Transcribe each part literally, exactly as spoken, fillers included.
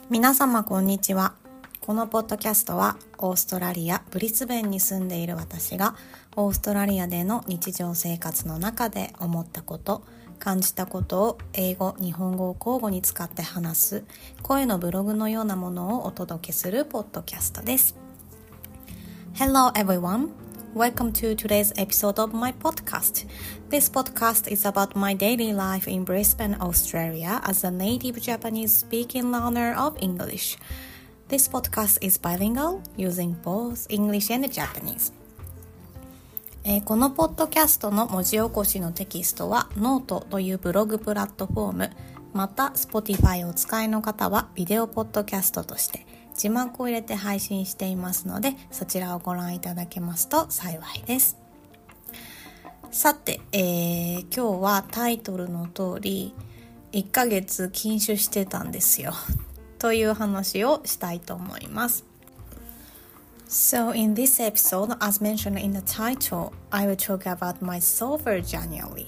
皆様こんにちは。このポッドキャストはオーストラリア・ブリスベンに住んでいる私がオーストラリアでの日常生活の中で思ったこと、感じたことを英語・日本語を交互に使って話す声のブログのようなものをお届けするポッドキャストです。Hello everyone.Welcome to today's episode of my podcast. This podcast is about my daily life in Brisbane, Australia as a native Japanese speaking learner of English. This podcast is bilingual, using both English and Japanese. えー、このポッドキャストの文字起こしのテキストは Note というブログプラットフォーム、また Spotify をお使いの方はビデオポッドキャストとして字幕を入れて配信していますので、そちらをご覧いただけますと幸いです。さて、えー、今日はタイトルの通りいっかげつ禁酒してたんですよという話をしたいと思います。So in this episode, as mentioned in the title, I will talk about my sober January.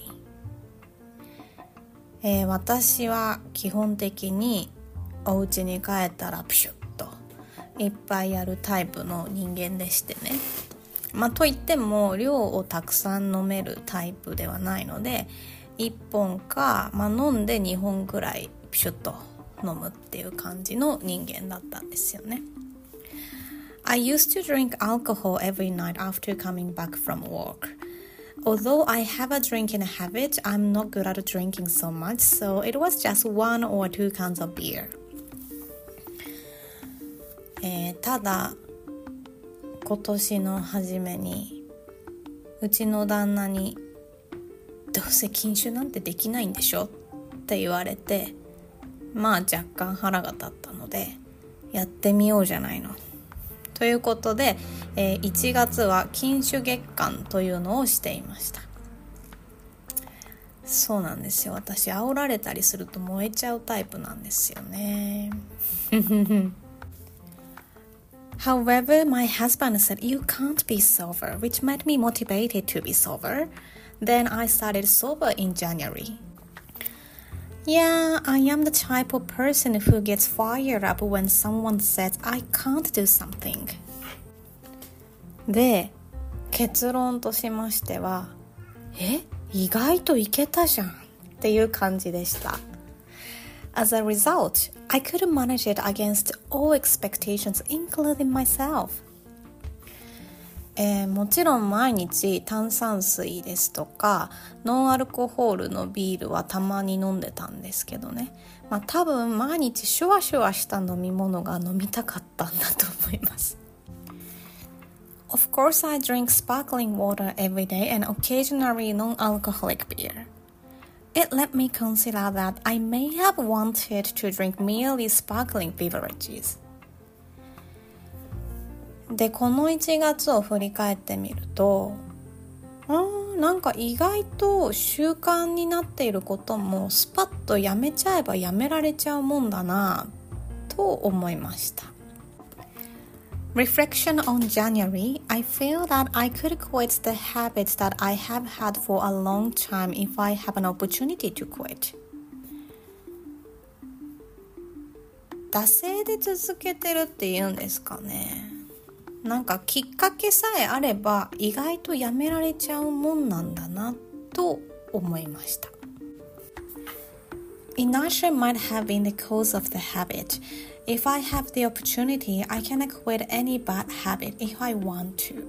えー、私は基本的にお家に帰ったらプシュッいっぱいやるタイプの人間でしてね、まあといっても量をたくさん飲めるタイプではないのでいっぽんか、まあ、飲んでにほんぐらいピシュッと飲むっていう感じの人間だったんですよね。I used to drink alcohol every night after coming back from work. Although I have a drinking habit, I'm not good at drinking so much, so it was just one or two cans of beer.えー、ただ今年の初めにうちの旦那にどうせ禁酒なんてできないんでしょって言われて、まあ若干腹が立ったのでやってみようじゃないのということで、えー、いちがつは禁酒月間というのをしていました。そうなんですよ。私煽られたりすると燃えちゃうタイプなんですよねHowever, my husband said, you can't be sober, which made me motivated to be sober. Then I started sober in January. Yeah, I am the type of person who gets fired up when someone says I can't do something. で、結論としましては、え、意外といけたじゃんっていう感じでした。As a result, I could manage it against all expectations, including myself. えー、もちろん毎日炭酸水ですとかノンアルコホールのビールはたまに飲んでたんですけどね、まあ、多分毎日シュワシュワした飲み物が飲みたかったんだと思います。Of course, I drink sparkling water every day and occasionally non-alcoholic beer.It let me consider that I may have wanted to drink merely sparkling beverages. で、このいちがつを振り返ってみると、あー、なんか意外と習慣になっていることもスパッとやめちゃえばやめられちゃうもんだなと思いました。Reflection on January, I feel that I could quit the habits that I have had for a long time if I have an opportunity to quit. 惰性で続けてるって言うんですかね。なんかきっかけさえあれば意外とやめられちゃうもんなんだなと思いました。Inertia might have been the cause of the habit.If I have the opportunity, I can quit any bad habit if I want to.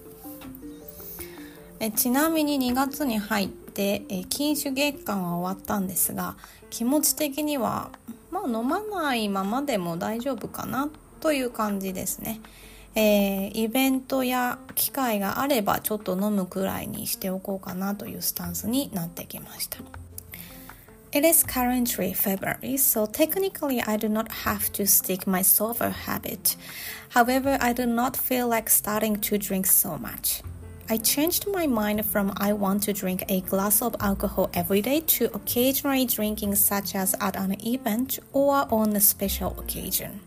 えちなみににがつに入ってえ禁酒月間は終わったんですが、気持ち的には、まあ、飲まないままでも大丈夫かなという感じですね。えー、イベントや機会があればちょっと飲むくらいにしておこうかなというスタンスになってきました。It is currently February, so technically I do not have to stick my sober habit. However, I do not feel like starting to drink so much. I changed my mind from I want to drink a glass of alcohol every day to occasionally drinking such as at an event or on a special occasion.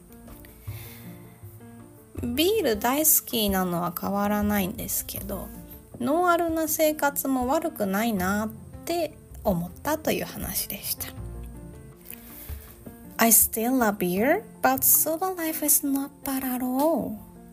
ビール大好きなのは変わらないんですけど、ノンアルな生活も悪くないなって思ったという話でした。 I still love beer, but soda life is not bad at all.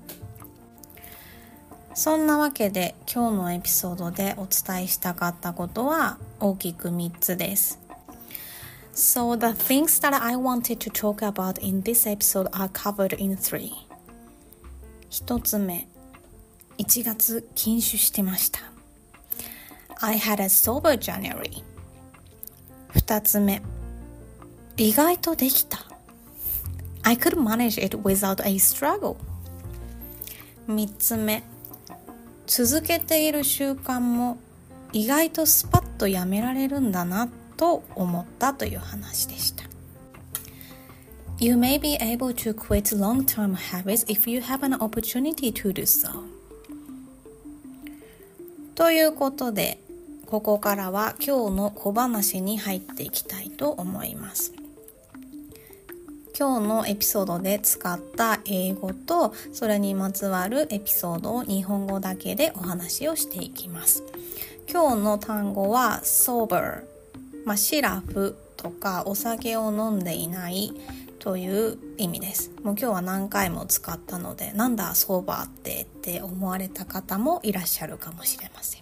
そんなわけで今日のエピソードでお伝えしたかったことは大きくみっつです。So the things that I wanted to talk about in this episode are covered in three. 一つ目、いちがつ禁酒してました。I had a sober January. 二つ目、意外とできた。I could manage it without a struggle. 三つ目、続けている習慣も意外とスパッとやめられるんだなと思ったという話でした。You may be able to quit long-term habits if you have an opportunity to do so. ということで、ここからは今日の小話に入っていきたいと思います。今日のエピソードで使った英語とそれにまつわるエピソードを日本語だけでお話をしていきます。今日の単語は sober、まあ、シラフとかお酒を飲んでいないという意味です。もう今日は何回も使ったので、なんだソーバーってって思われた方もいらっしゃるかもしれません。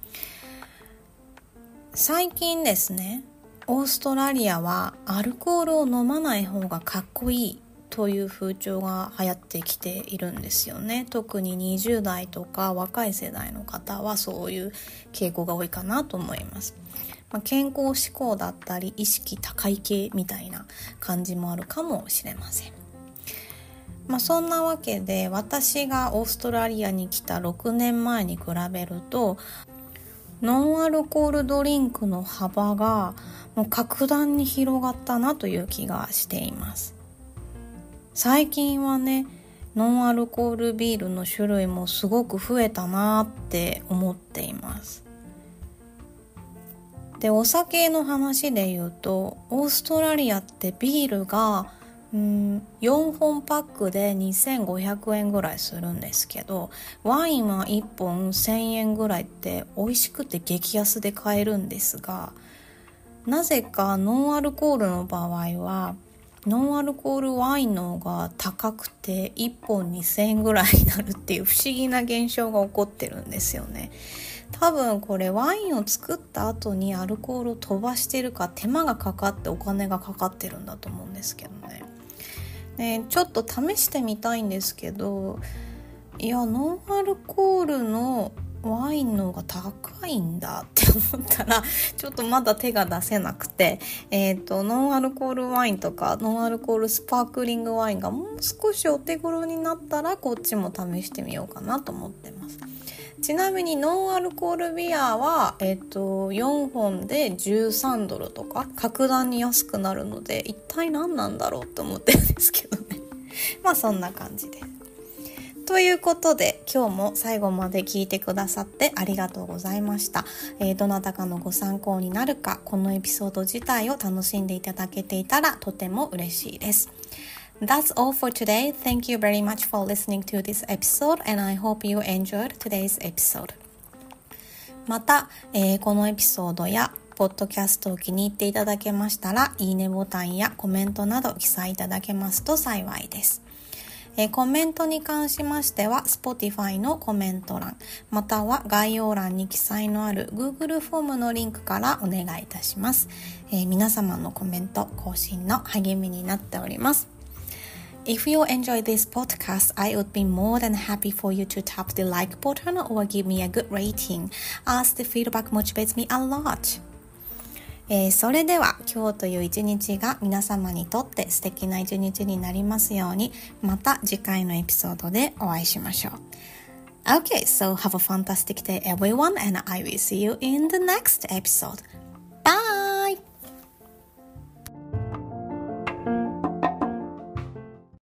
最近ですね、オーストラリアはアルコールを飲まない方がかっこいいという風潮が流行ってきているんですよね。特ににじゅう代とか若い世代の方はそういう傾向が多いかなと思います。まあ、健康志向だったり意識高い系みたいな感じもあるかもしれません。まあ、そんなわけで私がオーストラリアに来たろくねんまえに比べるとノンアルコールドリンクの幅がもう格段に広がったなという気がしています。最近はね、ノンアルコールビールの種類もすごく増えたなって思っています。で、お酒の話で言うと、オーストラリアってビールがうん、よんほんパックでにせんごひゃくえんぐらいするんですけど、ワインはいっぽんせんえんぐらいって美味しくて激安で買えるんですが、なぜかノンアルコールの場合はノンアルコールワインの方が高くていっぽんにせんえんぐらいになるっていう不思議な現象が起こってるんですよね。多分これワインを作った後にアルコールを飛ばしてるか手間がかかってお金がかかってるんだと思うんですけどね。ね、ちょっと試してみたいんですけど、いやノンアルコールのワインの方が高いんだって思ったらちょっとまだ手が出せなくて、えーと、ノンアルコールワインとかノンアルコールスパークリングワインがもう少しお手頃になったらこっちも試してみようかなと思ってます。ちなみにノンアルコールビアは、えーと、よんほんでじゅうさんドルとか格段に安くなるので一体何なんだろうと思ってるんですけどねまあそんな感じです。ということで今日も最後まで聞いてくださってありがとうございました。えー、どなたかのご参考になるか、このエピソード自体を楽しんでいただけていたらとても嬉しいです。That's all for today. Thank you very much for listening to this episode and I hope you enjoyed today's episode. また、えー、このエピソードやポッドキャストを気に入っていただけましたら、いいねボタンやコメントなど記載いただけますと幸いです。えー、コメントに関しましては Spotify のコメント欄または概要欄に記載のある Google フォームのリンクからお願いいたします。えー、皆様のコメント更新の励みになっております。If you enjoy this podcast, I would be more than happy for you to tap the like button or give me a good rating, as the feedback motivates me a lot. えー、それでは今日という一日が皆様にとって素敵な一日になりますように、また次回のエピソードでお会いしましょう。Okay, so have a fantastic day everyone and I will see you in the next episode.